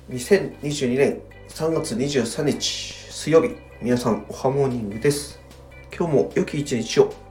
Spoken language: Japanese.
2022年3月23日水曜日、皆さんおはモーニングです。今日も良き一日を。